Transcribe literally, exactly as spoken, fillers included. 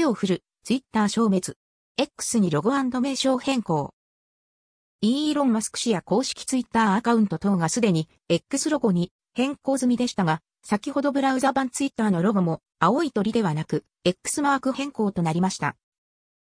を振る、ツイッター消滅。X にロゴ&名称変更。イーロン・マスク氏や公式ツイッターアカウント等がすでに X ロゴに変更済みでしたが、先ほどブラウザ版ツイッターのロゴも青い鳥ではなく X マーク変更となりました。